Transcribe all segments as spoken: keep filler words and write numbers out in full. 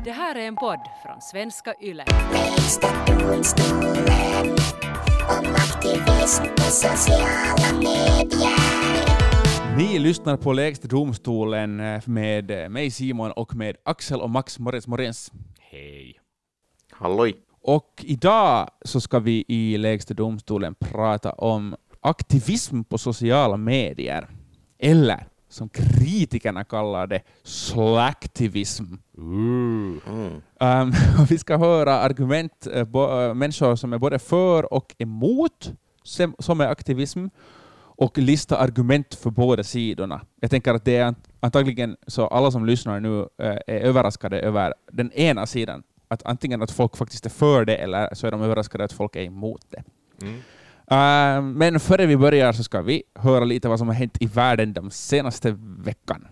Det här är en podd från Svenska Yle. Lägsta domstolen om aktivism på sociala medier. Ni lyssnar på Lägsta domstolen med mig Simon och med Axel och Max Morens Morens. Hej. Halloj. Och idag så ska vi i Lägsta domstolen prata om aktivism på sociala medier. Eller som kritikerna kallar det, slacktivism. Mm. Um, vi ska höra argument, uh, bo, uh, människor som är både för och emot som, som är aktivism, och lista argument för båda sidorna. Jag tänker att det är antagligen så alla som lyssnar nu uh, är överraskade över den ena sidan. Att antingen att folk faktiskt är för det, eller så är de överraskade att folk är emot det. Mm. Uh, men före vi börjar så ska vi höra lite vad som har hänt i världen de senaste veckan.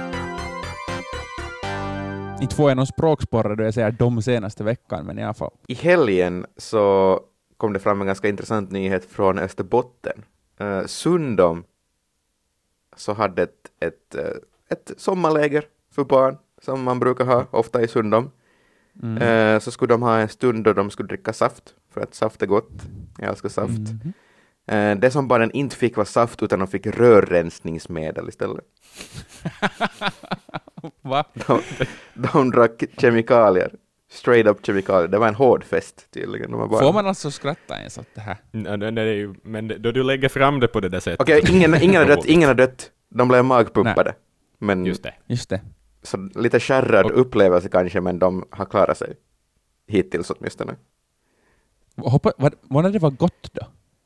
Inte får jag någon språksporre då jag säger de senaste veckan, men i alla fall. I helgen så kom det fram en ganska intressant nyhet från Österbotten. Uh, Sundom så hade ett, ett, uh, ett sommarläger för barn som man brukar ha ofta i Sundom. Mm. Uh, så skulle de ha en stund då de skulle dricka saft, för att saft är gott. Jag älskar saft. Mm. Uh, det som barnen inte fick var saft, utan de fick rörrensningsmedel istället. Va? De, de drack kemikalier. Straight up kemikalier. Det var en hård fest tydligen. De bara... Får man alltså skratta ens åt det här? Nej, nej, nej, men då du lägger fram det på det där sättet. Okej, okay, ingen, ingen, har dött, ingen har dött. De blev magpumpade. Men, just det. Just det. Så lite skärrad och... upplevelse kanske, men de har klarat sig. Hittills åtminstone. Hoppa, vad, vad när det var gott då?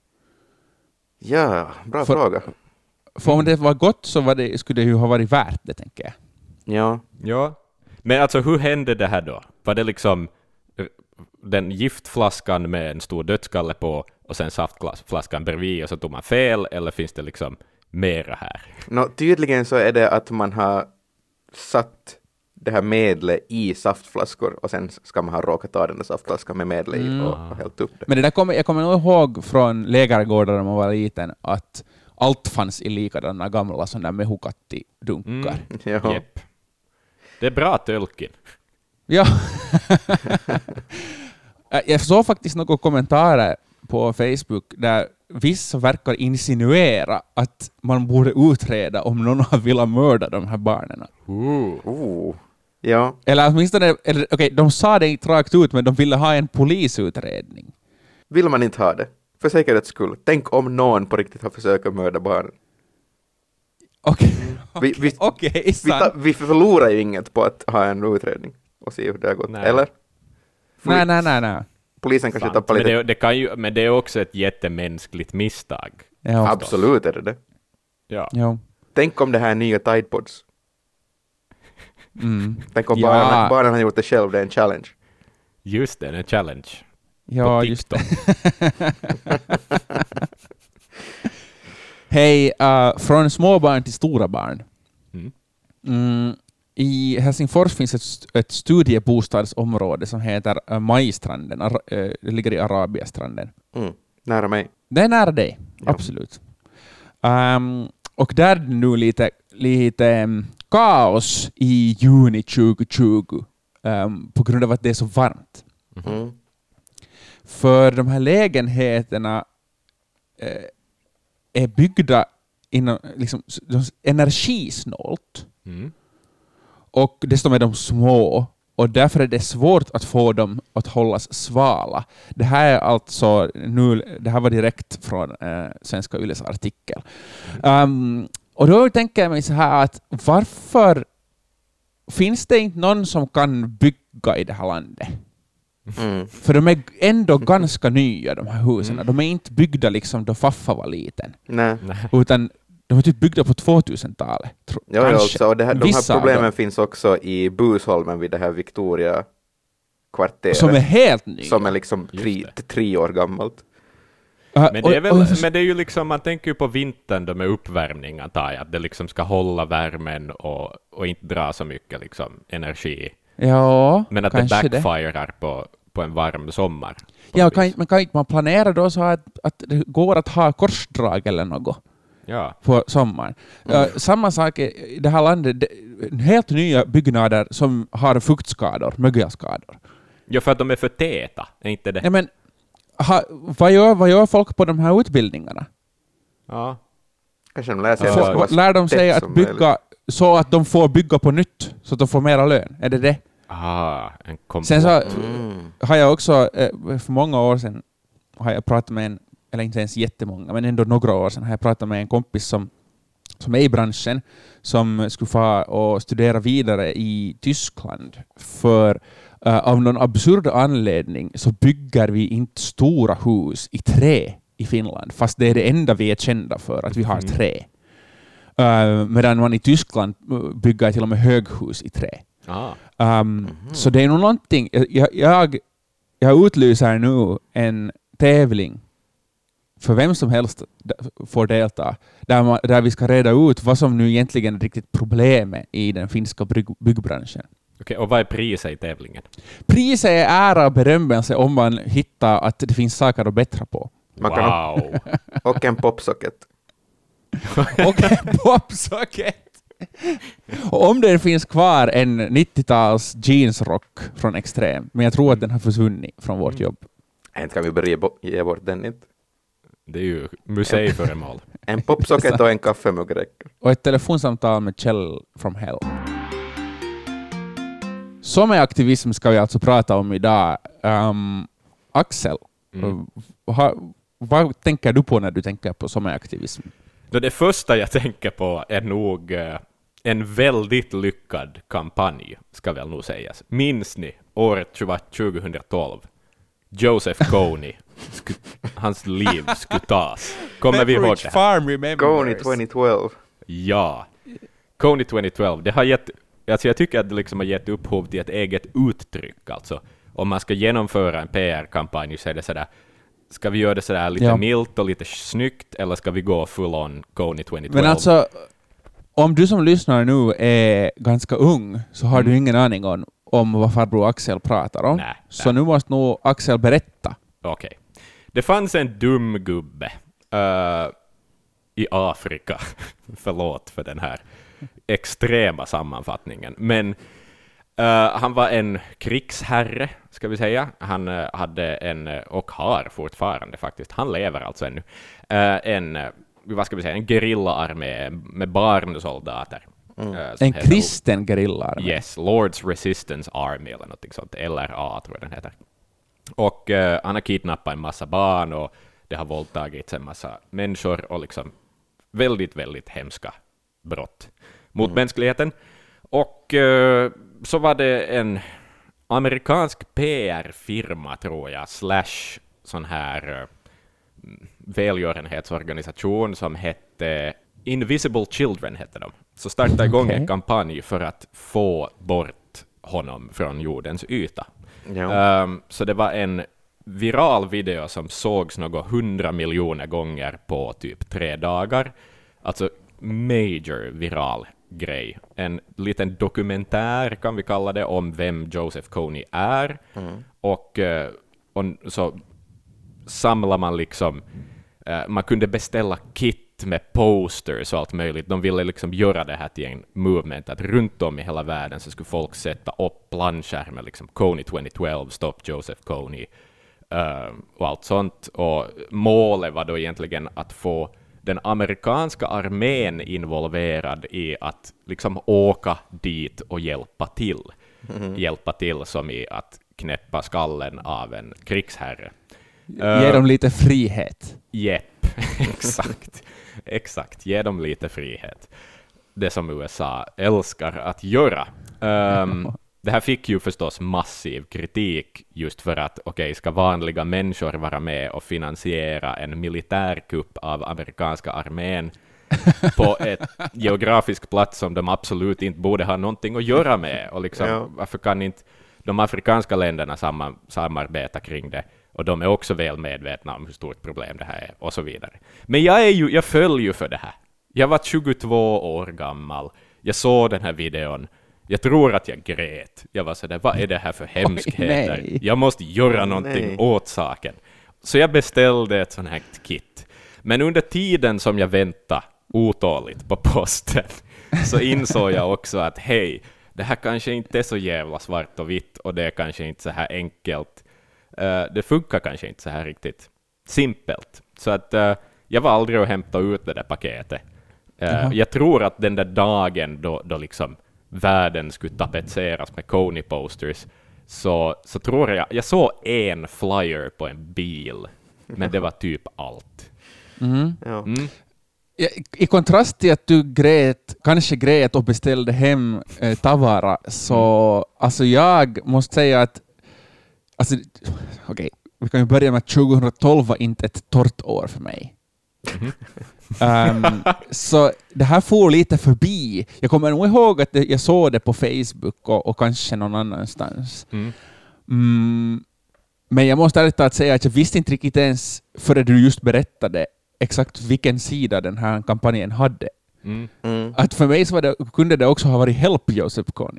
Ja, bra för, fråga. För om det var gott så var det, skulle det ju ha varit värt det, tänker jag. Ja. Ja. Men alltså, hur hände det här då? Var det liksom den giftflaskan med en stor dödskalle på och sen saftflaskan bredvid och så tog man fel, eller finns det liksom mera här? No, tydligen så är det att man har satt det här medlet i saftflaskor och sen ska man ha råkat ta den där saftflaskan med medlet i och, och hällt upp det. Men det där kommer, jag kommer nog ihåg från lägergårdar när man var liten att allt fanns i likadana gamla sådana mehukatti-dunkar. Mm, ja. Yep. Det är bra tölkin. Ja. Jag såg faktiskt några kommentarer på Facebook där vissa verkar insinuera att man borde utreda om någon har velat mörda de här barnen. Uh. Oh. Ja. Eller åtminstone, eller, okej, okay, de sa det inte rakt ut, men de ville ha en polisutredning. Vill man inte ha det? För säkerhets skull. Tänk om någon på riktigt har försökt mörda barnen. Okej, okay. vi, vi, okay, vi, ta, vi förlorar ju inget på att ha en utredning och se hur det har gått. Nej. Eller? Nej, nej, nej, nej. Polisen kanske tappar lite... Men det, det, kan ju, men det är också ett jättemänskligt misstag. Ja, absolut är det det. Ja. Ja. Tänk om det här är nya Tide Pods. Mm. Tänk om ja. barnen, barnen har gjort det själv, det är en challenge. Just det, en challenge. Ja, just det. Hej, uh, från småbarn till stora barn. Mm. Mm, I Helsingfors finns ett, ett studiebostadsområde som heter uh, Majstranden. Ar- uh, det ligger i Arabiastranden. Mm. Nära mig. Det är nära dig, ja. Absolut. Um, och där är det nu lite, lite um, kaos i juni tjugo tjugo um, på grund av att det är så varmt. Mm. För de här lägenheterna eh, är byggda inom, liksom, energisnålt. Mm. Och dessutom är de små. Och därför är det svårt att få dem att hållas svala. Det här är alltså nu, det här var direkt från eh, Svenska Yles artikel. Um, och då tänker jag mig så här att varför finns det inte någon som kan bygga i det här landet? Mm. För de är ändå ganska nya, de här husen. Mm. De är inte byggda liksom då Faffa var liten. Nej. Utan de är typ byggda på tvåtusentalet. Tro, ja, ja, också. Och det här, de här problemen då finns också i Busholmen vid det här Victoria-kvarteret. Som är helt ny. Som är liksom tre, tre år gammalt. Uh, men, det är väl, och, och, men det är ju liksom, man tänker ju på vintern då med uppvärmning, antar jag, att det liksom ska hålla värmen och, och inte dra så mycket liksom energi. Ja, men att det backfirar på, på en varm sommar. Ja, kan, men kan inte man planera då så att, att det går att ha korsdrag eller något? Ja. på sommaren. Mm. Uh, samma sak i det här landet, det, helt nya byggnader som har fuktskador, mögelskador. Ja, för att de är för täta, är inte det? Ja, men, ha, vad, gör, vad gör folk på de här utbildningarna? Ja. Kanske de lär sig Ja, att det Får, ska vara lär de sig tätt att som bygga möjligt. så att de får bygga på nytt, så att de får mera lön? Är det det? Ah, en kompott. Sen så Mm. har jag också, eh, för många år sedan, har jag pratat med en, eller inte ens jättemånga, men ändå några år sedan har jag pratat med en kompis som, som är i branschen, som skulle få och studera vidare i Tyskland. För uh, av någon absurd anledning så bygger vi inte stora hus i trä i Finland, fast det är det enda vi är kända för, att vi har trä. Uh, medan man i Tyskland bygger till och med höghus i trä. Ah. Um, Mm-hmm. Så det är nog någonting. Jag, jag, jag utlyser nu en tävling för vem som helst d- får delta, där, man, där vi ska reda ut vad som nu egentligen är riktigt problemet i den finska bygg, byggbranschen. Okej, och vad är priset i tävlingen? Priset är ära och berömmelse om man hittar att det finns saker att bättra på. Man kan Wow! Och en popsocket. Och en popsocket. Och om det finns kvar en nittio-tals jeansrock från Extrem, men jag tror att den har försvunnit från vårt jobb. Inte kan vi börja bo- ge bort den inte. Det är ju museiföremål. En popsocket och en kaffemugg räcker. Och ett telefonsamtal med Kjell from Hell. Sommaraktivism ska vi alltså prata om idag. Um, Axel, Mm. ha, vad tänker du på när du tänker på sommaraktivism? Då det första jag tänker på är nog eh, en väldigt lyckad kampanj, ska väl nog sägas. Minns ni året tjugohundratolv? Joseph Kony, sku- hans liv skulle tas. Kommer vi ihåg det här? Farm remembers. Goni tjugohundratolv. Ja. Kony tjugohundratolv, det har gett, alltså jag tycker att det liksom har gett upphov till ett eget uttryck. Alltså, om man ska genomföra en P R-kampanj så är det sådär, ska vi göra det sådär lite Ja. milt och lite snyggt, eller ska vi gå full on Kony tjugohundratolv? Men alltså, om du som lyssnar nu är ganska ung så har Mm. du ingen aning om, om vad farbror Axel pratar om. Nej, så nej. nu måste nog Axel berätta. Okej. Det fanns en dum gubbe uh, i Afrika. Förlåt för den här extrema sammanfattningen. Men uh, han var en krigsherre, ska vi säga. Han uh, hade en, uh, och har fortfarande faktiskt, han lever alltså ännu, uh, en, uh, vad ska vi säga, en gerillaarmé med barnsoldater. Mm. uh, som En heter- kristen gerillarmé. Yes, Lord's Resistance Army eller något sånt, L R A tror jag den heter. Och eh, han har kidnappat en massa barn och det har våldtagits en massa människor och liksom väldigt, väldigt hemska brott mot mänskligheten. Och eh, så var det en amerikansk P R-firma, tror jag, slash sån här eh, välgörenhetsorganisation som hette Invisible Children, hette de. Så startade igång Okej. en kampanj för att få bort honom från jordens yta. Ja. Ehm, så det var en viral video som sågs något hundra miljoner gånger på typ tre dagar. Alltså major viral grej. En liten dokumentär kan vi kalla det om vem Joseph Kony är. Mm. Och, eh, och så samlar man liksom, eh, man kunde beställa kit med posters och allt möjligt. De ville liksom göra det här till en movement, att runt om i hela världen så skulle folk sätta upp blandskärmar, liksom Kony tjugohundratolv, Stop Joseph Kony, eh, och allt sånt. Och målet var då egentligen att få den amerikanska armén involverad i att liksom åka dit och hjälpa till. Mm. Hjälpa till som i att knäppa skallen av en krigsherre. Ge dem lite frihet. Jepp, exakt. Exakt, ge dem lite frihet. Det som U S A älskar att göra. Um, det här fick ju förstås massiv kritik just för att, okej, okay, ska vanliga människor vara med och finansiera en militärkupp av amerikanska armén på ett geografisk plats som de absolut inte borde ha någonting att göra med? Och liksom, Ja. varför kan inte de afrikanska länderna samman, samarbeta kring det? Och de är också väl medvetna om hur stort problem det här är, och så vidare. Men jag, är ju, jag föll ju för det här. Jag var tjugotvå år gammal. Jag såg den här videon. Jag tror att jag grät. Jag var sådär, vad är det här för hemskheter? nej. Jag måste göra Oj, någonting nej. åt saken. Så jag beställde ett sånt här kit. Men under tiden som jag väntade otåligt på posten så insåg jag också att hej, det här kanske inte är så jävla svart och vitt och det är kanske inte så här enkelt. Uh, det funkar kanske inte så här riktigt simpelt. Så att uh, jag var aldrig att hämta ut det där paketet. Uh, uh-huh. Jag tror att den där dagen då, då liksom världen skulle tapetseras med Kony-posters så, så tror jag, jag såg en flyer på en bil, men det var typ allt. Mm. Ja. Mm. Ja, i kontrast till att du grät, kanske grät och beställde hem eh, Tavara, så mm. alltså jag måste säga att alltså, okej, okay, vi kan ju börja med att tjugohundratolv var inte ett torrt år för mig. Mm. um, så det här får lite förbi. Jag kommer nog ihåg att jag såg det på Facebook och, och kanske någon annanstans. Mm. Mm, men jag måste ärligt talat säga att jag visste inte riktigt ens före du just berättade exakt vilken sida den här kampanjen hade. Mm. Mm. Att för mig så var det, kunde det också ha varit Help Joseph Kony.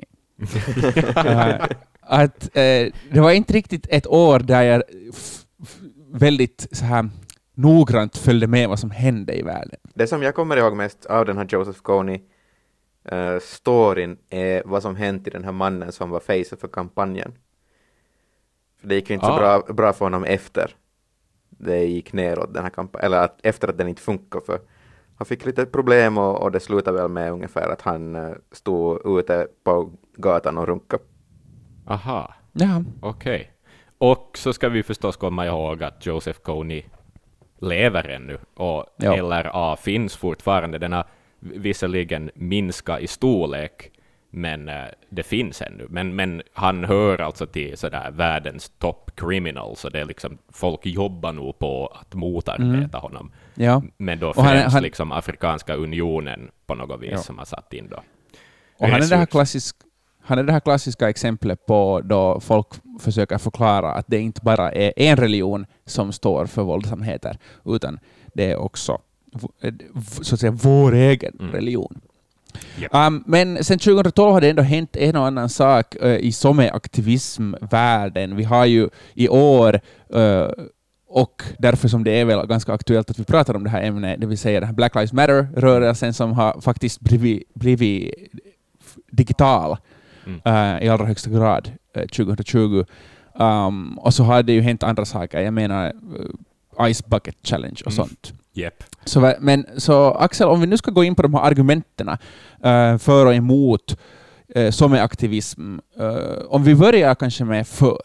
uh, att uh, det var inte riktigt ett år där jag f- f- väldigt så här noggrant följde med vad som hände i världen. Det som jag kommer ihåg mest av den här Joseph Kony uh, storyn är vad som hänt i den här mannen som var face för kampanjen. För det gick ju inte ah. så bra, bra för honom efter det gick neråt den här kampanjen, eller att, efter att den inte funkar, för han fick lite problem och, och det slutade väl med ungefär att han uh, stod ute på gatan och runkade. Aha, ja. Okej. Okay. Och så ska vi förstås komma ihåg att Joseph Kony lever ännu och ja. L R A finns fortfarande. Den har visserligen minskat i storlek, men uh, det finns ännu. Men, men han hör alltså till sådär världens top criminal, så det är liksom, folk jobbar nog på att motarbeta mm. honom. Ja. Men då främst han, han, liksom Afrikanska unionen på något vis ja. Som har satt in då. Och han är, det här klassisk, han är det här klassiska exemplet på då folk försöker förklara att det inte bara är en religion som står för våldsamheter, utan det är också så att säga vår egen mm. religion. Yep. Um, men sen tjugohundratolv har det ändå hänt en och annan sak uh, i someaktivismvärlden. Vi har ju i år, uh, och därför som det är väl ganska aktuellt att vi pratar om det här ämnet, det vill säga den här Black Lives Matter-rörelsen som har faktiskt blivit, blivit digital mm. uh, i allra högsta grad uh, tjugohundratjugo. Um, och så har det ju hänt andra saker. Jag menar uh, Ice Bucket Challenge och mm. sånt. Yep. Så, men, så Axel, om vi nu ska gå in på de här argumenten uh, för och emot uh, som är aktivism, uh, om vi börjar kanske med för.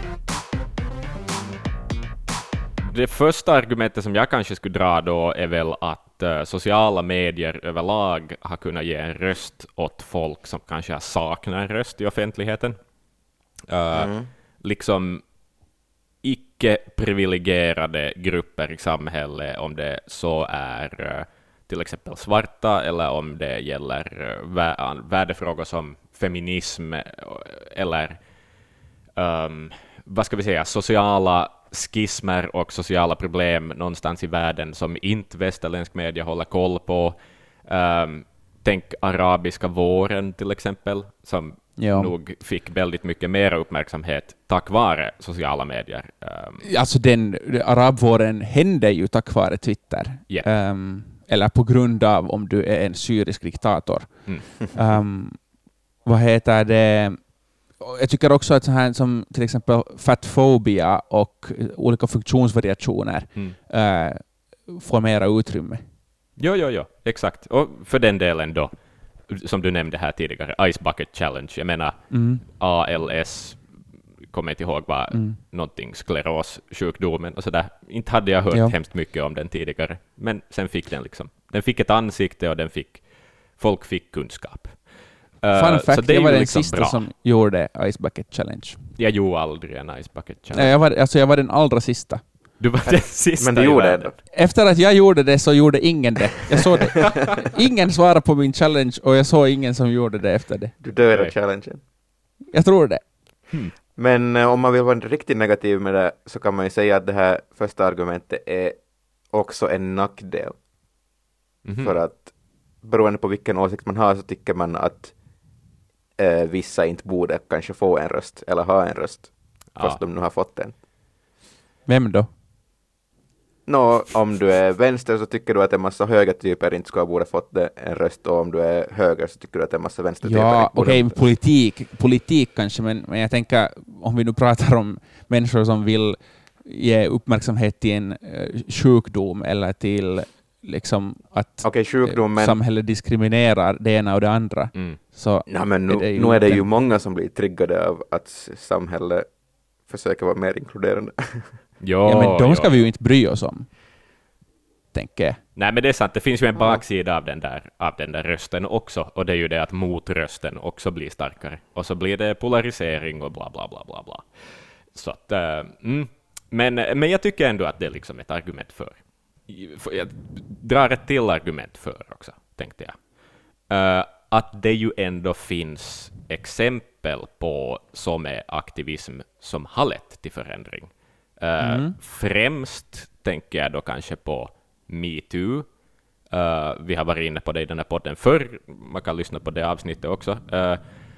Det första argumentet som jag kanske skulle dra då är väl att uh, sociala medier överlag har kunnat ge en röst åt folk som kanske har saknat en röst i offentligheten. Uh, mm. Liksom icke-privilegierade grupper i samhället, om det så är uh, till exempel svarta, eller om det gäller uh, vä- värdefrågor som feminism eller um, vad ska vi säga, sociala skismer och sociala problem någonstans i världen som inte västerländsk media håller koll på. Um, tänk arabiska våren till exempel, som ja. nog fick väldigt mycket mer uppmärksamhet tack vare sociala medier. Um, alltså den arabvåren hände ju tack vare Twitter. Yeah. Um, eller på grund av om du är en syrisk diktator. Mm. um, vad heter det? Jag tycker också att så här som till exempel fatfobia och olika funktionsvariationer mm. uh, får mera utrymme. Jo, jo, jo, exakt. Och för den delen då, som du nämnde här tidigare, Ice Bucket Challenge. Jag menar, mm. A L S, kommer inte ihåg vad mm. någonting, sklerossjukdomen och sådär. Inte hade jag hört ja. hemskt mycket om den tidigare. Men sen fick den liksom, den fick ett ansikte och den fick, folk fick kunskap. Fun uh, fact, jag var den liksom sista bra. som gjorde Ice Bucket Challenge. Jag gjorde aldrig en Ice Bucket Challenge. Nej, jag, var, alltså jag var den allra sista. Du var den sista. Men du gjorde det. Efter att jag gjorde det så gjorde ingen det. Jag såg det. Ingen svarade på min challenge och jag såg ingen som gjorde det efter det. Du dödade okay. challengen. Jag tror det. Hmm. Men uh, om man vill vara riktigt negativ med det så kan man ju säga att det här första argumentet är också en nackdel. Mm-hmm. För att beroende på vilken åsikt man har så tycker man att uh, vissa inte borde kanske få en röst eller ha en röst. Ja. Fast de nu har fått en. Vem då? Nå, om du är vänster så tycker du att en massa högertyper inte ska ha borde fått det, en röst, och om du är höger så tycker du att en massa vänstertyper Ja, inte borde okej, okay, politik, politik kanske, men, men jag tänker om vi nu pratar om människor som vill ge uppmärksamhet till en uh, sjukdom eller till liksom att okay, sjukdom, men... samhället diskriminerar det ena och det andra. Mm. Så ja, men nu är det ju, nu är det ju många som blir triggade av att samhället försöker vara mer inkluderande. Jo, ja, men de ska jo. vi ju inte bry oss om, tänker jag. Nej, men det är sant. Det finns ju en baksida av den där, av den där rösten också, och det är ju det att motrösten också blir starkare. Och så blir det polarisering och bla bla bla bla bla. Så att, uh, mm. men, men jag tycker ändå att det är liksom ett argument för. Jag drar ett till argument för också, tänkte jag. Uh, att det ju ändå finns exempel på som är aktivism som har lett till förändring. Uh, mm. Främst tänker jag då kanske på MeToo. Uh, vi har varit inne på det i den här podden förr. Man kan lyssna på det avsnittet också. Uh,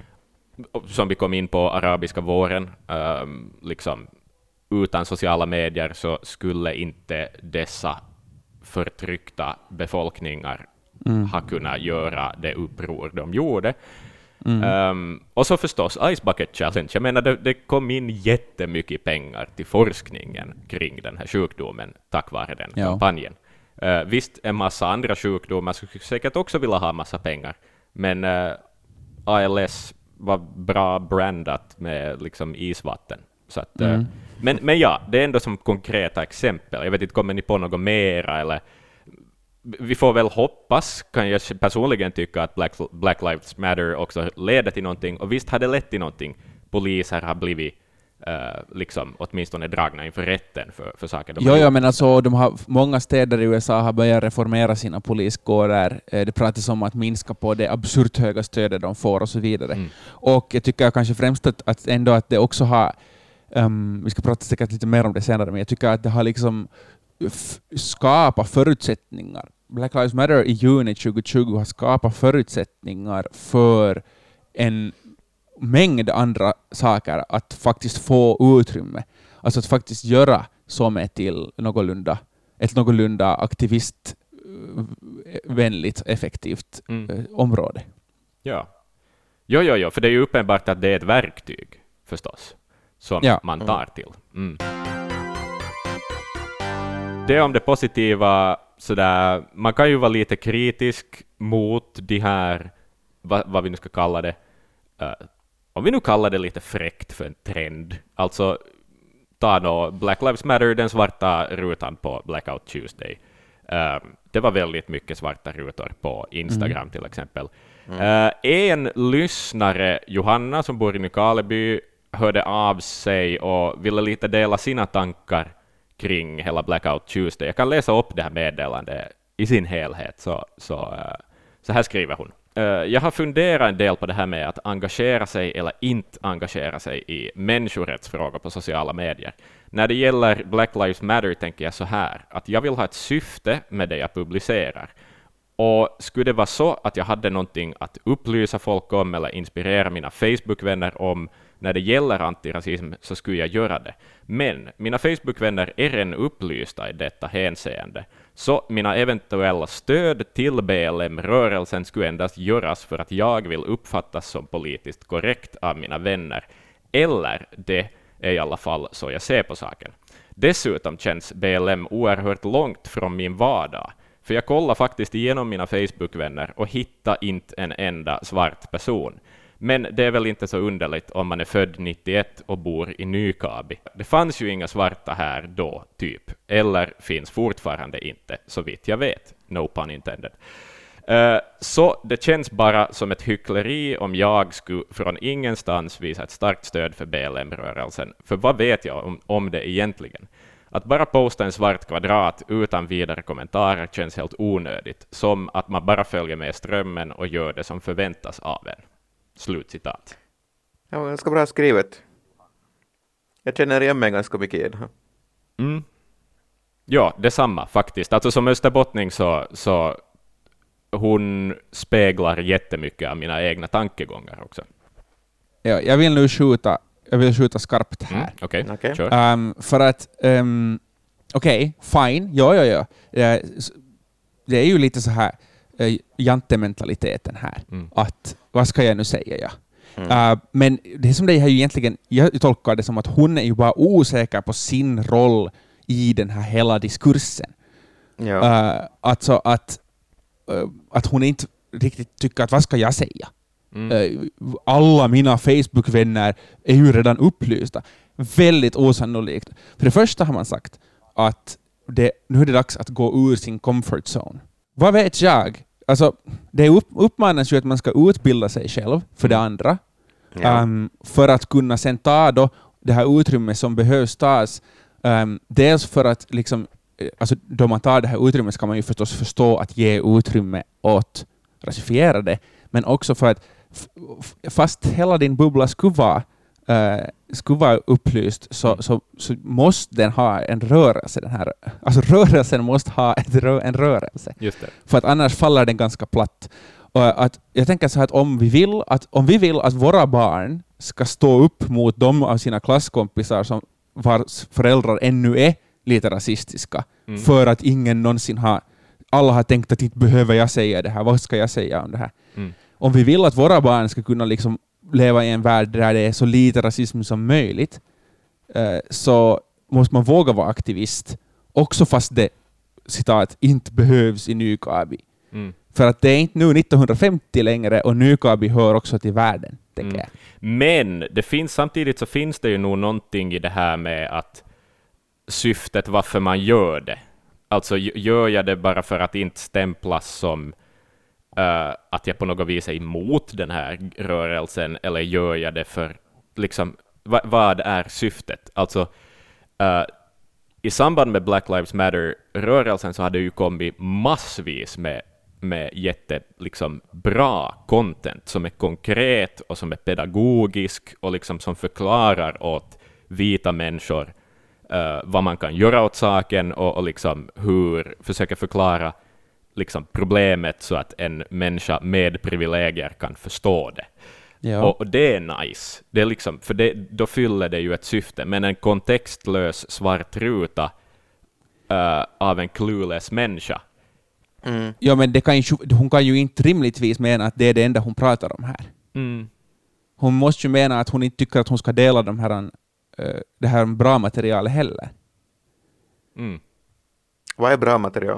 som vi kom in på arabiska våren. Uh, liksom, utan sociala medier så skulle inte dessa förtryckta befolkningar mm. ha kunnat göra det uppror de gjorde. Mm. Um, och så förstås Ice Bucket Challenge. Jag menar, det, det kom in jättemycket pengar till forskningen kring den här sjukdomen tack vare den ja. kampanjen. Uh, visst, en massa andra sjukdomar skulle säkert också vilja ha massa pengar, men uh, A L S var bra brandat med liksom isvatten. Så att, mm. uh, men, men ja, det är ändå som konkreta exempel. Jag vet inte, kommer ni på något mera eller... Vi får väl hoppas, kan jag personligen tycka, att Black, Black Lives Matter också leder till någonting. Och visst har det lett till någonting. Poliser har blivit uh, liksom, åtminstone dragna inför rätten för, för saker de jo, har ja, men alltså, de har, många städer i U S A har börjat reformera sina poliskårer. Det pratas om att minska på det absurt höga stödet de får och så vidare. Mm. Och jag tycker kanske främst att, att ändå att det också har, um, vi ska prata säkert lite mer om det senare, men jag tycker att det har liksom skapa förutsättningar. Black Lives Matter i juni tjugo tjugo har skapat förutsättningar för en mängd andra saker att faktiskt få utrymme. Alltså att faktiskt göra som till någorlunda, ett någorlunda aktivistvänligt, effektivt mm. område. Ja. Jo, jo, jo, för det är ju uppenbart att det är ett verktyg förstås som ja. man tar till. Mm. Det om det positiva, sådär, man kan ju vara lite kritisk mot de här, vad, vad vi nu ska kalla det, uh, om vi nu kallar det lite fräckt för en trend, alltså ta då Black Lives Matter, den svarta rutan på Blackout Tuesday. Uh, det var väldigt mycket svarta rutor på Instagram mm. till exempel. Mm. Uh, en lyssnare, Johanna, som bor i Nykarleby, hörde av sig och ville lite dela sina tankar kring hela Blackout Tuesday. Jag kan läsa upp det här meddelandet i sin helhet. Så, så, uh, så här skriver hon. Uh, jag har funderat en del på det här med att engagera sig eller inte engagera sig i människorättsfrågor på sociala medier. När det gäller Black Lives Matter tänker jag så här, att jag vill ha ett syfte med det jag publicerar. Och skulle det vara så att jag hade någonting att upplysa folk om eller inspirera mina Facebook-vänner om när det gäller antirasism, så skulle jag göra det. Men mina Facebook-vänner är redan upplysta i detta hänseende. Så mina eventuella stöd till B L M-rörelsen skulle endast göras för att jag vill uppfattas som politiskt korrekt av mina vänner. Eller det är i alla fall så jag ser på saken. Dessutom känns B L M oerhört långt från min vardag. För jag kollar faktiskt igenom mina Facebook-vänner och hittar inte en enda svart person. Men det är väl inte så underligt om man är född nittioett och bor i Nykarleby. Det fanns ju inga svarta här då, typ. Eller finns fortfarande inte, så vitt jag vet. No pun intended. Uh, så det känns bara som ett hyckleri om jag skulle från ingenstans visa ett starkt stöd för B L M-rörelsen. För vad vet jag om, om det egentligen? Att bara posta en svart kvadrat utan vidare kommentarer känns helt onödigt. Som att man bara följer med strömmen och gör det som förväntas av en. Slutcitat. Ja, ganska bra skrivet. Jag känner igen mig ganska mycket i det här. Mm. Ja, detsamma faktiskt. Alltså som österbottning så, så hon speglar jättemycket av mina egna tankegångar också. Ja, jag vill nu skjuta, jag vill skjuta skarpt här. Mm, Okej, okay. okay. Sure. Um, för att um, okej, okay, fine. Ja, ja, ja. Det är ju lite så här uh, jantementaliteten här. Mm. Att, vad ska jag nu säga? Ja? Mm. Uh, men det som det är ju egentligen, jag tolkar det som att hon är ju bara osäker på sin roll i den här hela diskursen. Ja. Uh, alltså att, uh, att hon inte riktigt tycker att vad ska jag säga? Mm. Uh, alla mina Facebook-vänner är ju redan upplysta. Väldigt osannolikt. För det första har man sagt att det, nu är det dags att gå ur sin comfort zone. Vad vet jag? Alltså, det upp, uppmanas ju att man ska utbilda sig själv för det andra. Ja. Um, för att kunna sen ta då det här utrymmet som behövs tas. Um, dels för att liksom, alltså, då man tar det här utrymmet ska man ju förstås förstå att ge utrymme åt rasifierade. Men också för att f- fast hela din bubbla skulle vara Uh, skulle vara upplyst så, så, så måste den ha en rörelse. Den här, alltså rörelsen måste ha ett rö- en rörelse. Just det. För att annars faller den ganska platt. Och att, jag tänker så här att om vi vill att, om vi vill att våra barn ska stå upp mot de av sina klasskompisar som vars föräldrar ännu är lite rasistiska mm. för att ingen någonsin har alla har tänkt att inte behöver jag säga det här. Vad ska jag säga om det här? Mm. Om vi vill att våra barn ska kunna liksom leva i en värld där det är så lite rasism som möjligt eh, så måste man våga vara aktivist också fast det citat inte behövs i Nykabi. Mm. För att det är inte nu nittonhundrafemtio längre och Nykabi hör också till världen, tänker mm. jag. Men det finns, samtidigt så finns det ju nog någonting i det här med att syftet varför man gör det. Alltså gör jag det bara för att inte stämplas som Uh, att jag på något vis är emot den här rörelsen, eller gör jag det för liksom, va- vad är syftet? Alltså uh, i samband med Black Lives Matter-rörelsen så hade det ju kommit massvis med, med jätte liksom, bra content som är konkret och som är pedagogisk och liksom, som förklarar åt vita människor uh, vad man kan göra åt saken och, och liksom, hur försöker förklara liksom problemet så att en människa med privilegier kan förstå det. Ja. Och, och det är nice. Det är liksom, för det, då fyller det ju ett syfte. Men en kontextlös svart ruta uh, av en clueless människa. Mm. Ja, men det kan ju, hon kan ju inte rimligtvis mena att det är det enda hon pratar om här. Mm. Hon måste ju mena att hon inte tycker att hon ska dela de här, uh, det här bra materialet heller. Mm. Vad är bra material?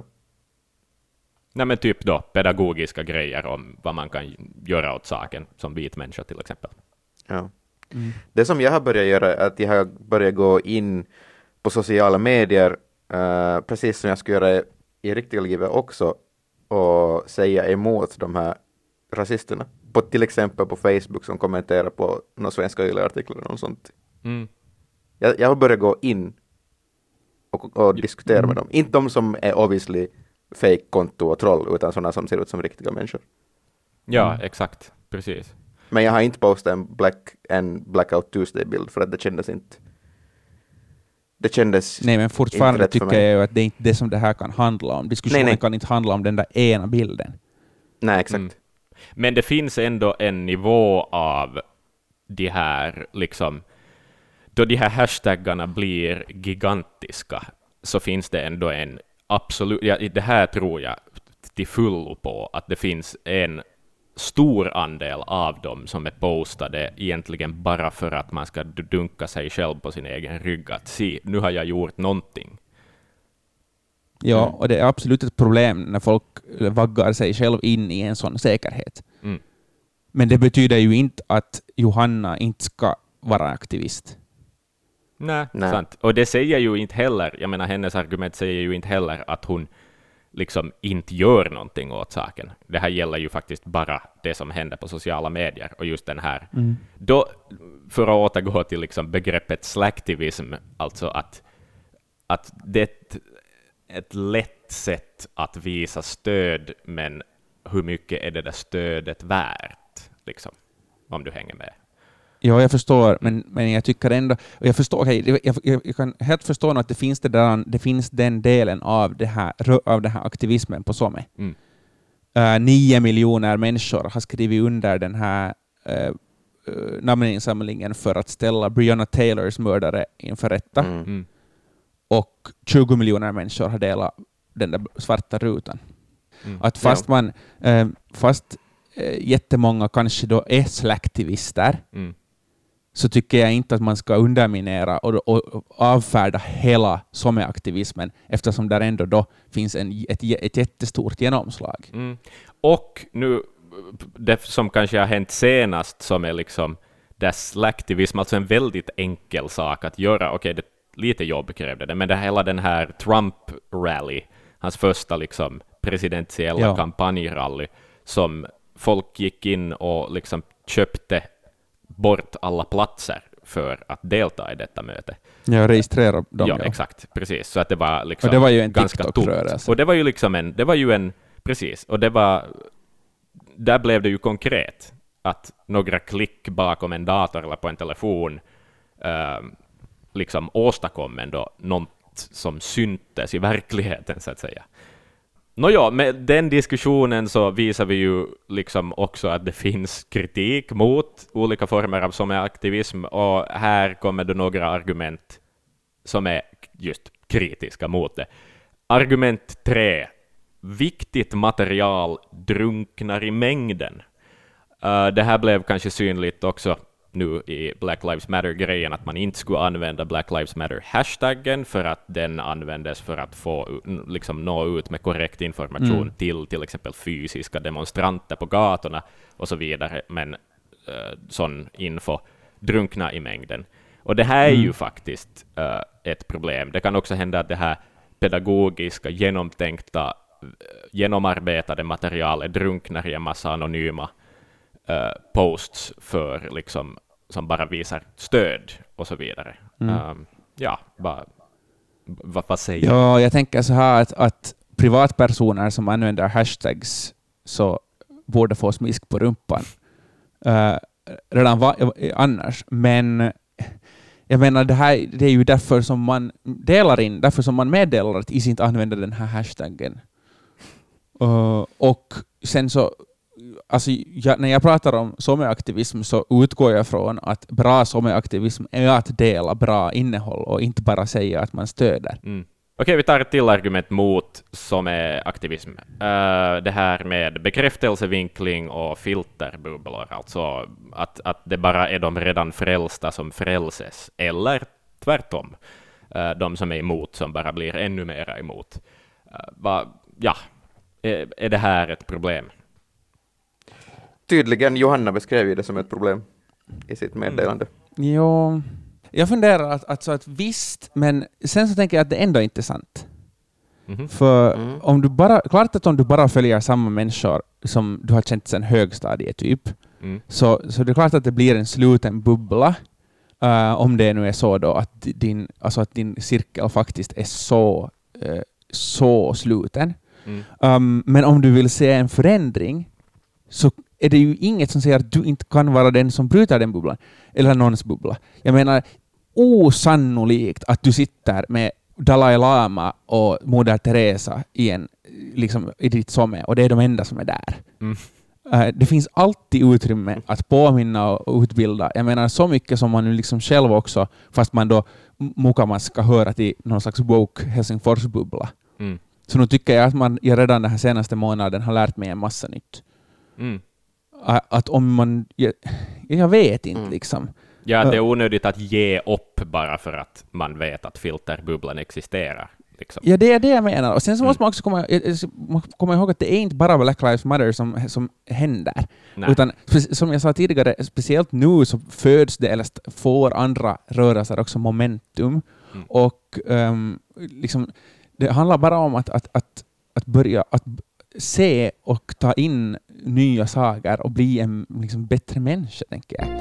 Nej, men typ då pedagogiska grejer om vad man kan göra åt saken som vit människa till exempel. Ja. Mm. Det som jag har börjat göra är att jag har börjat gå in på sociala medier uh, precis som jag ska göra i riktiga livet också och säga emot de här rasisterna. På, till exempel på Facebook som kommenterar på några svenska Yle-artiklar och sånt. Mm. Jag, jag har börjat gå in och, och diskutera mm. med dem. Inte de som är obviously fake-konto och troll, utan sådana som ser ut som riktiga människor. Ja, mm. exakt. Precis. Men jag har inte postat en, black, en Blackout Tuesday-bild för att det kändes inte... Det kändes Nej, men fortfarande tycker jag ju att det är inte det som det här kan handla om. Diskussionen nej, nej. kan inte handla om den där ena bilden. Nej, exakt. Mm. Men det finns ändå en nivå av de här, liksom... Då de här hashtaggarna blir gigantiska så finns det ändå en absolut, ja, det här tror jag till fullo på, att det finns en stor andel av dem som är postade egentligen bara för att man ska dunka sig själv på sin egen rygg att se, nu har jag gjort någonting. Ja, och det är absolut ett problem när folk vaggar sig själv in i en sån säkerhet. Mm. Men det betyder ju inte att Johanna inte ska vara aktivist. Nej, Nej, sant. Och det säger ju inte heller, jag menar hennes argument säger ju inte heller att hon liksom inte gör någonting åt saken. Det här gäller ju faktiskt bara det som händer på sociala medier och just den här. Mm. Då, för att återgå till liksom begreppet slacktivism, alltså att, att det är ett, ett lätt sätt att visa stöd, men hur mycket är det där stödet värt, liksom, om du hänger med? Ja, jag förstår, men, men jag tycker ändå... Jag, förstår, okay, jag, jag, jag kan helt förstå att det finns, det där, det finns den delen av, det här, av den här aktivismen på Some. Mm. Uh, nio miljoner människor har skrivit under den här uh, uh, namninsamlingen för att ställa Breonna Taylors mördare inför rätta. Mm. Mm. och tjugo miljoner människor har delat den där svarta rutan. Mm. Att fast Ja. man eh, fast eh, jättemånga kanske då är slacktivister, Mm. så tycker jag inte att man ska underminera och, och, och avfärda hela sommeaktivismen, eftersom där ändå då finns en, ett, ett jättestort genomslag. Mm. Och nu, det som kanske har hänt senast, som är liksom där slacktivism, alltså en väldigt enkel sak att göra. Okej, okay, lite jobb krävde det, men det hela den här Trump-rally, hans första liksom presidentiella ja. kampanjrally, som folk gick in och liksom köpte bort alla platser för att delta i detta möte. Ja, registrera dem. Ja, ja, exakt, precis. Så att det var liksom och det var ju en ganska TikTok-rörelse. Och det var ju liksom en, det var ju en, precis, och det var, där blev det ju konkret att några klick bakom en dator eller på en telefon eh, liksom åstadkom ändå något som syntes i verkligheten, så att säga. Nåja, med den diskussionen så visar vi ju liksom också att det finns kritik mot olika former av sommeraktivism, och här kommer det några argument som är just kritiska mot det. Argument tre. Viktigt material drunknar i mängden. Uh, det här blev kanske synligt också nu i Black Lives Matter-grejen, att man inte skulle använda Black Lives Matter-hashtaggen för att den användes för att få liksom nå ut med korrekt information mm. till till exempel fysiska demonstranter på gatorna och så vidare, men uh, sån info drunknar i mängden. Och det här är mm. ju faktiskt uh, ett problem. Det kan också hända att det här pedagogiska, genomtänkta, genomarbetade materialet drunknar i en massa anonyma uh, posts för liksom, som bara visar stöd och så vidare. Mm. Um, ja, vad va, va säger du? Ja, jag tänker så här att, att privatpersoner som använder hashtags så borde få smisk på rumpan uh, redan va, annars. Men jag menar, det här det är ju därför som man delar in, därför som man meddelar att is inte använder den här hashtaggen. Uh, och sen så, alltså jag, när jag pratar om sommeraktivism så utgår jag från att bra sommeraktivism är att dela bra innehåll och inte bara säga att man stöder. Mm. Okej, vi tar ett till argument mot sommeraktivism. Uh, det här med bekräftelsevinkling och filterbubblor, alltså att, att det bara är de redan frälsta som frälses, eller tvärtom, uh, de som är emot som bara blir ännu mer emot. Uh, va, ja, är, är det här ett problem? Tydligen, Johanna beskrev ju det som ett problem i sitt meddelande. Mm. Jo, jag funderar att, att, så att visst, men sen så tänker jag att det ändå inte är sant. Mm-hmm. För mm. om du bara, klart att om du bara följer samma människor som du har känt sedan högstadiet typ, mm. så, så det är klart att det blir en sluten bubbla. Uh, om det nu är så då att din, alltså att din cirkel faktiskt är så, uh, så sluten. Mm. Um, men om du vill se en förändring så är det ju inget som säger att du inte kan vara den som bryter den bubblan. Eller någons bubbla. Jag menar, osannolikt att du sitter med Dalai Lama och Moder Teresa i, en, liksom, i ditt somme, och det är de enda som är där. Mm. Uh, det finns alltid utrymme att påminna och utbilda. Jag menar, så mycket som man nu liksom själv också, fast man då mukamas ska höra till någon slags woke Helsingfors-bubbla. Mm. Så nu tycker jag att man jag redan den här senaste månaden har lärt mig en massa nytt. Mm. Att om man... Jag, jag vet inte, mm. liksom. Ja, det är onödigt att ge upp bara för att man vet att filterbubblan existerar. Liksom. Ja, det är det jag menar. Och sen så mm. måste man också komma, komma ihåg att det är inte bara Black Lives Matter som, som händer. Nej. Utan som jag sa tidigare, speciellt nu så föds det eller får andra rörelser också momentum. Mm. Och um, liksom, det handlar bara om att, att, att, att börja att se och ta in nya saker och bli en liksom, bättre människa, tänker jag.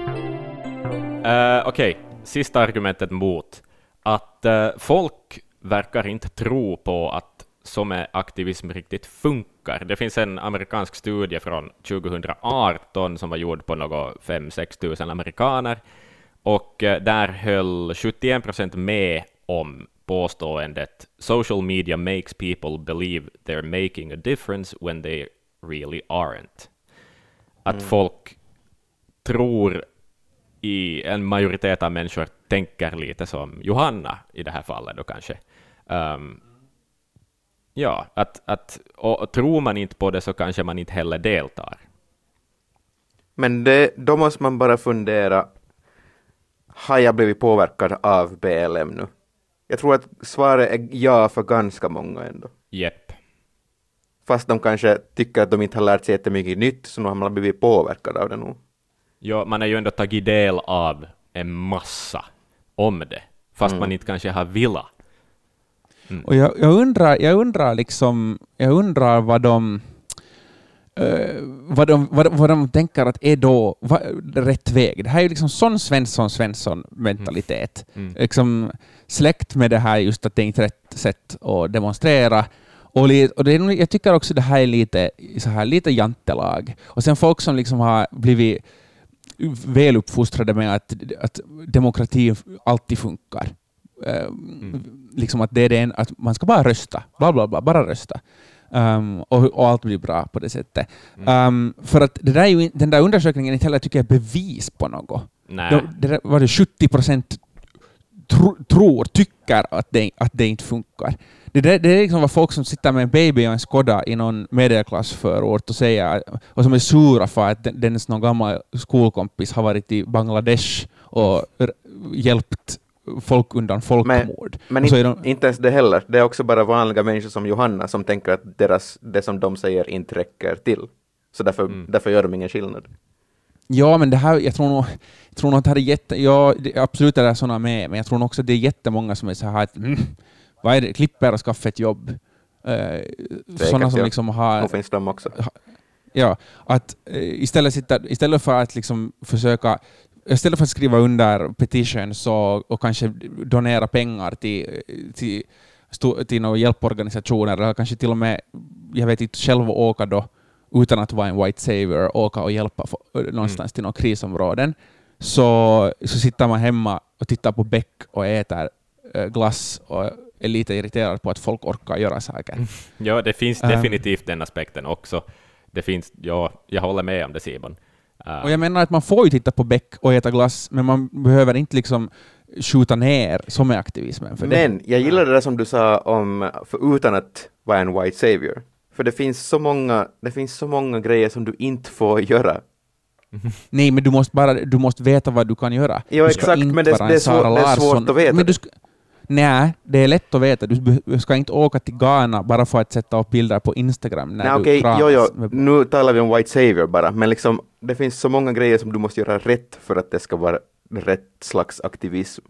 Uh, Okej, okay. Sista argumentet mot att uh, folk verkar inte tro på att sommeraktivism riktigt funkar. Det finns en amerikansk studie från tjugohundraarton som var gjord på något fem sex tusen amerikaner, och uh, där höll sjuttioen procent med om påståendet social media makes people believe they're making a difference when they really aren't. Att mm. folk tror i en majoritet av människor tänker lite som Johanna i det här fallet då kanske. Um, ja, att, att och, och tror man inte på det så kanske man inte heller deltar. Men det, då måste man bara fundera, har jag blivit påverkad av B L M nu? Jag tror att svaret är ja för ganska många ändå. Jepp. Fast de kanske tycker att de inte har lärt sig jättemycket nytt, så nu har man blivit påverkad av det nu. Ja, man har ju ändå tagit del av en massa om det, fast mm. man inte kanske har velat. Mm. Och jag, jag undrar, jag undrar liksom, jag undrar vad de, uh, vad de, vad, vad de tänker att är då vad, rätt väg. Det här är ju liksom sån Svensson Svensson mentalitet. Mm. Mm. Liksom släkt med det här just att det är inte rätt sätt att demonstrera. Och, och det är, jag tycker också det här är lite så här lite jantelag. Och sen folk som liksom har blivit väl uppfostrade med att, att demokrati alltid funkar. Mm. Liksom att det är det en, att man ska bara rösta, bla bla bla, bara rösta. Um, och, och allt blir bra på det sättet. Mm. Um, för att det där är ju, den där undersökningen inte heller tycker jag är bevis på något. Nej. Det, det var det sjuttio procent tro, tror, tycker att det, att det inte funkar. Det, det, det är liksom vad folk som sitter med en baby och en Skoda i någon medelklassförort och säger, och som är sura för att den, den någon gammal skolkompis har varit i Bangladesh och r- hjälpt folk undan folkmord. Men, men in, de... inte ens det heller. Det är också bara vanliga människor som Johanna som tänker att deras, det som de säger inte räcker till. Så därför, mm. därför gör de ingen skillnad. Ja, men det här, jag tror nog, jag tror nog att det här är jätte... Ja, det, absolut är det sådana med, men jag tror nog också att det är jättemånga som är så här att mm, vad är det? Klipper och skaffa ett jobb. Uh, sådana som ja. liksom har... Och finns de också. Ha, ja, att uh, istället, sitta, istället för att liksom försöka istället för att skriva under petitions och, och kanske donera pengar till, till, till några hjälporganisationer eller kanske till och med, jag vet inte, själv åka då utan att vara en white savior, åka och hjälpa för, någonstans mm. till några krisområden, så, så sitter man hemma och tittar på Beck och äter äh, glass och är lite irriterad på att folk orkar göra saker. Ja, det finns definitivt den aspekten också. Det finns, ja, jag håller med om det, Simon. Uh. Och jag menar att man får ju titta på Beck och äta glass, men man behöver inte liksom skjuta ner som är aktivismen. För men det. jag gillar det där som du sa om, för utan att vara en white savior. För det finns så många, det finns så många grejer som du inte får göra. Nej, men du måste bara, du måste veta vad du kan göra. Ja, exakt, men det, det, är svår, det är svårt att veta. Men du ska, nej, det är lätt att veta. Du ska inte åka till Ghana bara för att sätta upp bilder på Instagram när nej, du okay, kramas. Jo, jo. Med... Nu talar vi om white savior bara, men liksom, det finns så många grejer som du måste göra rätt för att det ska vara rätt slags aktivism.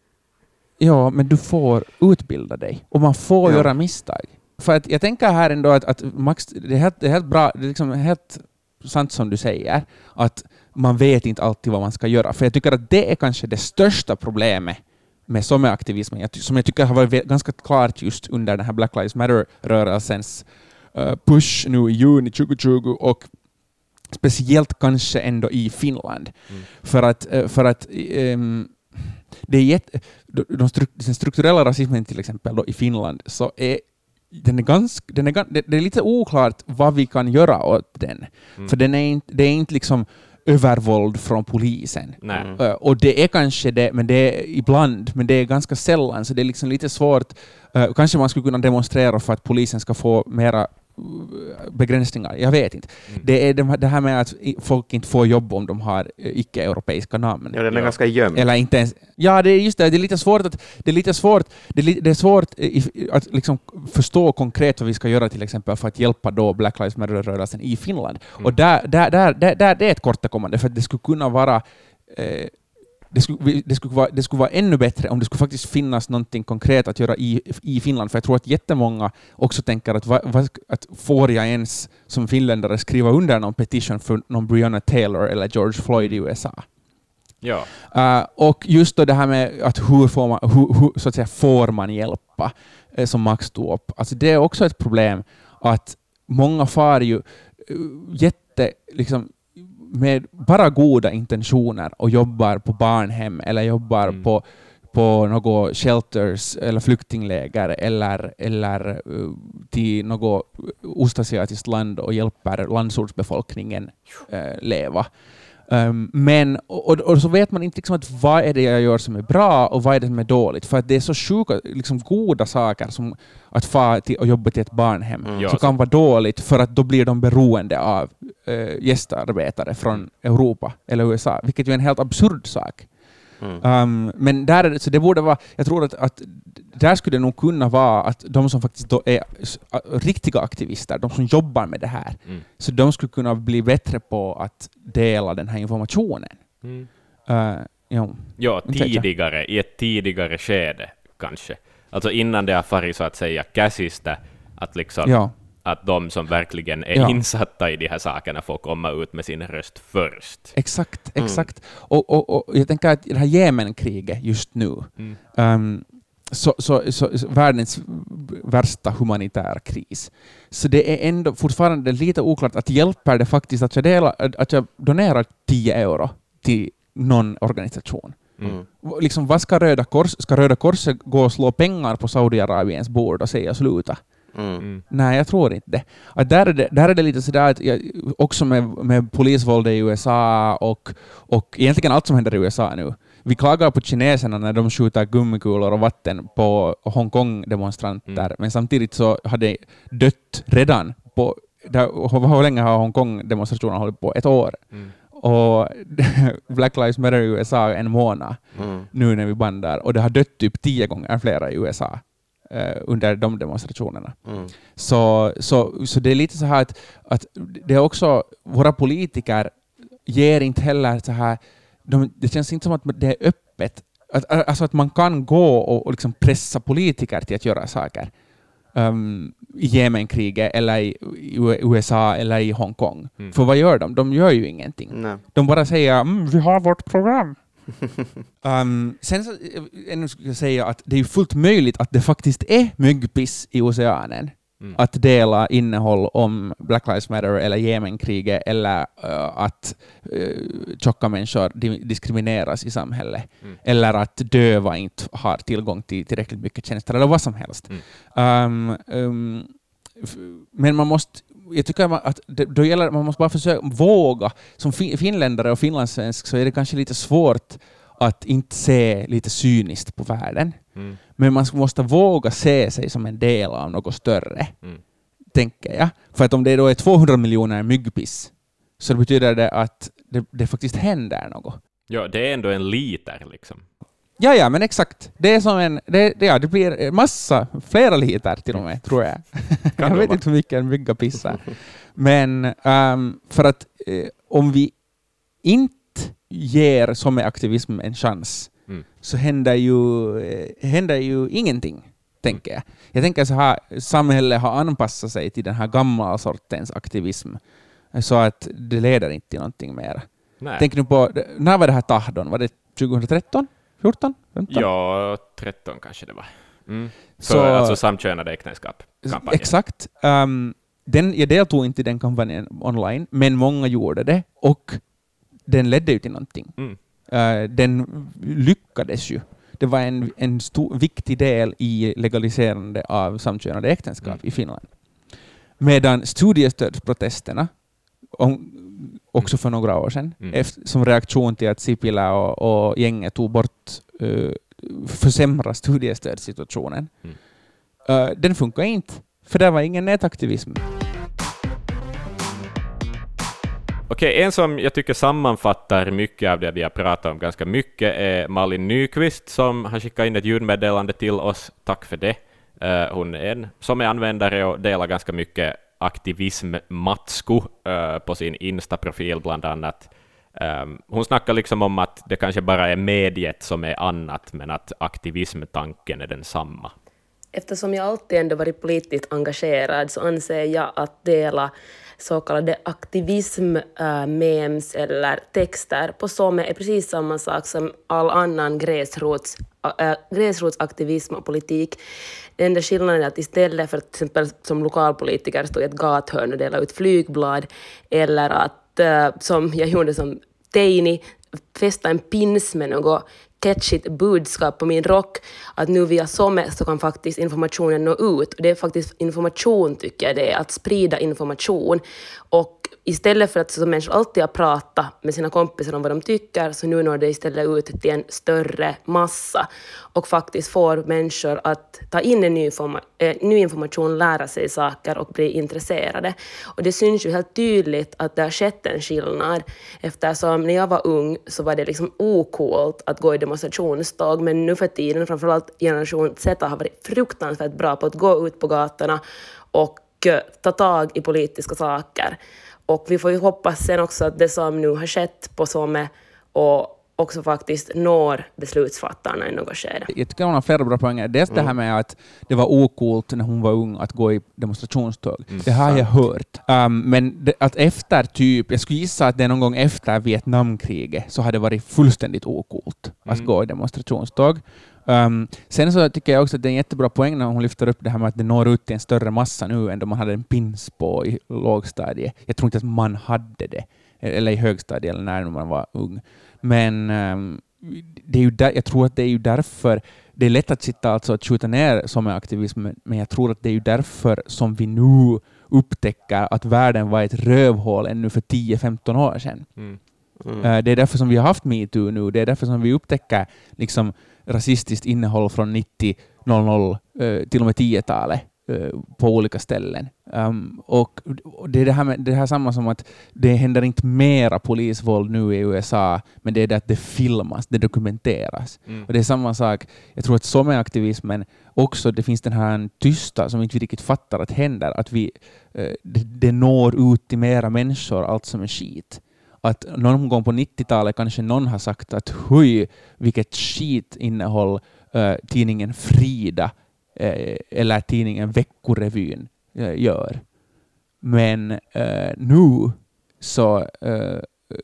Ja, men du får utbilda dig och man får ja. göra misstag. För att jag tänker här ändå att, att Max, det är helt, det är helt bra, det är liksom helt sant som du säger, att man vet inte alltid vad man ska göra. För jag tycker att det är kanske det största problemet med sommaraktivismen, som jag tycker har varit ganska klart just under den här Black Lives Matter-rörelsens uh, push nu i juni tjugohundratjugo och speciellt kanske ändå i Finland. Mm. För att, uh, för att um, det är jätte, de, de stru, den strukturella rasismen till exempel då, i Finland, så är den är ganska, den är, det är lite oklart vad vi kan göra åt den. Mm. För den är inte, det är inte liksom övervåld från polisen. Nej. Uh, och det är kanske det, men det är ibland, men det är ganska sällan, så det är liksom lite svårt. Uh, kanske man skulle kunna demonstrera för att polisen ska få mera begränsningar. Jag vet inte. Mm. Det är det här med att folk inte får jobb om de har icke-europeiska namn. Ja, den är ja. ganska gömd. Eller inte ens. Ja, det är just det. Det är lite svårt att det är lite svårt. Det är, det är svårt att liksom förstå konkret vad vi ska göra till exempel för att hjälpa då Black Lives Matter-rörelsen i Finland. Mm. Och där, där, där, där, där det är ett kortkommande, för att det skulle kunna vara eh, Det skulle, det, skulle vara, det skulle vara ännu bättre om det skulle faktiskt finnas någonting konkret att göra i, i Finland. För jag tror att jättemånga också tänker att, va, va, att får jag ens som finländare skriva under någon petition för någon Breonna Taylor eller George Floyd i U S A. Ja. Uh, och just då det här med att hur får man, hur, hur, så att säga, får man hjälpa, eh, som Max tog upp. Alltså det är också ett problem att många far ju uh, jätte... Liksom, med bara goda intentioner och jobbar på barnhem eller jobbar mm. på, på något shelters eller flyktingläger eller, eller uh, till något ostasiatiskt land och hjälper landsortsbefolkningen uh, leva. Um, men, och, och så vet man inte liksom att vad är det jag gör som är bra och vad är det som är dåligt. För att det är så sjuka, liksom goda saker som att få till och jobba till ett barnhem Mm. så Ja, kan så- vara dåligt för att då blir de beroende av uh, gästarbetare från Europa eller U S A, vilket ju är en helt absurd sak. Mm. Um, men där är det, så det borde vara, jag tror att, att där skulle det nog kunna vara att de som faktiskt då är s- a- riktiga aktivister, de som jobbar med det här, Mm. så de skulle kunna bli bättre på att dela den här informationen. Mm. Uh, jo. Ja, Inte vet jag. tidigare, i ett tidigare skede kanske. Alltså innan det har farit så att säga käsistä, att liksom Ja. att de som verkligen är Ja. insatta i de här sakerna får komma ut med sin röst först. Exakt, Mm. exakt. Och, och, och jag tänker att det här Jemenkriget just nu, Mm. um, så, så, så, så världens värsta humanitära kris. Så det är ändå fortfarande lite oklart att hjälper det faktiskt att jag, delar, att jag donerar tio euro till någon organisation. Mm. Liksom, vad ska Röda, Kors, ska Röda Korset gå och slå pengar på Saudiarabiens bord och säga sluta? Mm. Mm. Nej, jag tror inte det. Att där, är det där är det lite sådär, att jag, också med, med polisvåld i U S A och, och egentligen allt som händer i U S A nu. Vi klagar på kineserna när de skjuter gummikulor och vatten på Hongkong-demonstranter, Mm. men samtidigt så hade dött redan på, där, hur länge har Hongkong-demonstrationerna hållit på? Ett år. Mm. Och Black Lives Matter i U S A en månad Mm. nu när vi bandar, och det har dött typ tio gånger flera i U S A eh, under de demonstrationerna. Mm. Så, så, så det är lite så här att, att det är också, våra politiker ger inte heller så här, de, det känns inte som att det är öppet, att, alltså att man kan gå och, och liksom pressa politiker till att göra saker um, i Jemenkriget eller i, i U S A eller i Hongkong. Mm. För vad gör de? De gör ju ingenting. Nej. De bara säger mm, vi har vårt program. um, sen så, ännu skulle jag säga att det är fullt möjligt att det faktiskt är myggpiss i oceanen. Mm. Att dela innehåll om Black Lives Matter eller Jemenkriget eller uh, att uh, tjocka människor di- diskrimineras i samhället. Mm. Eller att döva inte har tillgång till tillräckligt mycket tjänster eller vad som helst. Mm. Um, um, f- men man måste, jag tycker att det, då gäller man måste bara försöka våga. Som fi, finländare och finlandssvensk så är det kanske lite svårt att inte se lite cyniskt på världen. Mm. Men man måste våga se sig som en del av något större, Mm. tänker jag. För att om det då är tvåhundra miljoner myggpiss så betyder det att det, det faktiskt händer något. Ja, det är ändå en liter liksom. Ja, ja, men exakt. Det är som en, det, det, ja, det blir massa, flera liter till och med, tror jag. jag det vet vara? inte hur mycket en mygga pissar. Men um, för att eh, om vi inte ger som är aktivism en chans Mm. så händer ju, eh, händer ju ingenting, tänker jag. Jag tänker så här, samhället har anpassat sig till den här gamla sortens aktivism så att det leder inte till någonting mer. Nej. Tänk nu på, när var det här Tahdon? Var det tjugohundratretton? fjorton? femton? Ja, tretton kanske det var. Mm. För Så- alltså samkönade äktenskap. Kampanjen. Exakt. Um, den, jag deltog inte i den kampanjen online, men många gjorde det och den ledde ju till någonting. Mm. Uh, den lyckades ju. Det var en, en stor, viktig del i legaliserande av samkönade äktenskap Mm. i Finland. Medan studiestödsprotesterna, om, också för några år sedan, Mm. efter, som reaktion till att Sipilä och, och gänget tog bort, uh, försämra studiestödssituationen, Mm. uh, den funkar inte, för det var ingen nätaktivism. Okej, en som jag tycker sammanfattar mycket av det vi har pratat om ganska mycket är Malin Nyqvist som har skickat in ett ljudmeddelande till oss. Tack för det. Uh, hon är en som är användare och delar ganska mycket aktivism-matsku uh, på sin Insta-profil bland annat. Um, hon snackar liksom om att det kanske bara är mediet som är annat, men att aktivismtanken är densamma. Eftersom jag alltid ändå varit politiskt engagerad så anser jag att dela så kallade aktivism-memes eller texter på SOME är precis samma sak som all annan gräsrots, äh, gräsrotsaktivism och politik. Den enda skillnaden är att istället för att till exempel som lokalpolitiker stå i ett gathörn och dela ut flygblad eller att äh, som jag gjorde som teini fästa en pins med något catchigt budskap på min rock att nu via SOME så kan faktiskt informationen nå ut. Och det är faktiskt information tycker jag det är, att sprida information. Och istället för att som människor alltid har pratat med sina kompisar om vad de tycker så nu når det istället ut till en större massa och faktiskt får människor att ta in en ny, informa- äh, ny information, lära sig saker och bli intresserade. Och det syns ju helt tydligt att det har skett en skillnad eftersom när jag var ung så var det liksom ocoolt att gå i demonstrationståg men nu för tiden framförallt generation Z har varit fruktansvärt bra på att gå ut på gatorna och uh, ta tag i politiska saker. Och vi får ju hoppas sen också att det som nu har skett på SOME och också faktiskt når beslutsfattarna i något skede. Jag tycker hon har flera bra poänger. Dels mm. det här med att det var ocoolt när hon var ung att gå i demonstrationståg. Mm. Det har jag hört. Um, men det, att efter typ, jag skulle gissa att det någon gång efter Vietnamkriget så hade det varit fullständigt ocoolt att mm. gå i demonstrationståg. Um, sen så tycker jag också att det är en jättebra poäng när hon lyfter upp det här med att det når ut till en större massa nu än då man hade en pins på i lågstadiet. Jag tror inte att man hade det. Eller i högstadiet eller när man var ung. Men um, det är ju där, jag tror att det är ju därför det är lätt att sitta alltså att skjuta ner som är aktivism, men jag tror att det är ju därför som vi nu upptäcker att världen var ett rövhål ännu för tio femton år sedan. Mm. Mm. Uh, det är därför som vi har haft MeToo nu. Det är därför som vi upptäcker liksom rasistiskt innehåll från nittio noll noll uh, till och med tio-talet. På olika ställen. Um, och, och det är det här, med, det här samma som att det händer inte mera polisvåld nu i U S A, men det är det att det filmas, det dokumenteras. Mm. Och det är samma sak, jag tror att som är aktivismen också, det finns den här tysta som inte vi riktigt fattar att händer, att vi, uh, det, det når ut till mera människor, allt som är skit. Att någon gång på nittio-talet kanske någon har sagt att hui, vilket skitinnehåll uh, tidningen Frida eller tidningen Veckorevyn gör. Men uh, nu så uh,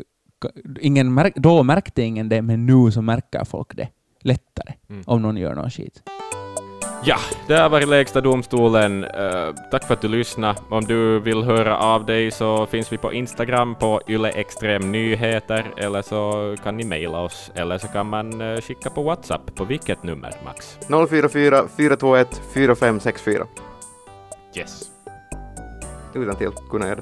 ingen märk, då märkte ingen det, men nu så märker folk det lättare mm. om någon gör någon skit. Ja, det har varit Lägsta domstolen. Uh, tack för att du lyssnade. Om du vill höra av dig så finns vi på Instagram på Yle Extrem Nyheter, eller så kan ni mejla oss, eller så kan man uh, skicka på WhatsApp. På vilket nummer, Max? noll fyra fyra fyra två ett fyra fem sex fyra. Yes. Utan till kunna göra det.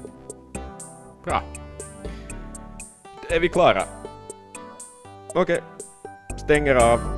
Bra. Är vi klara? Okej. Okay. Stänger av.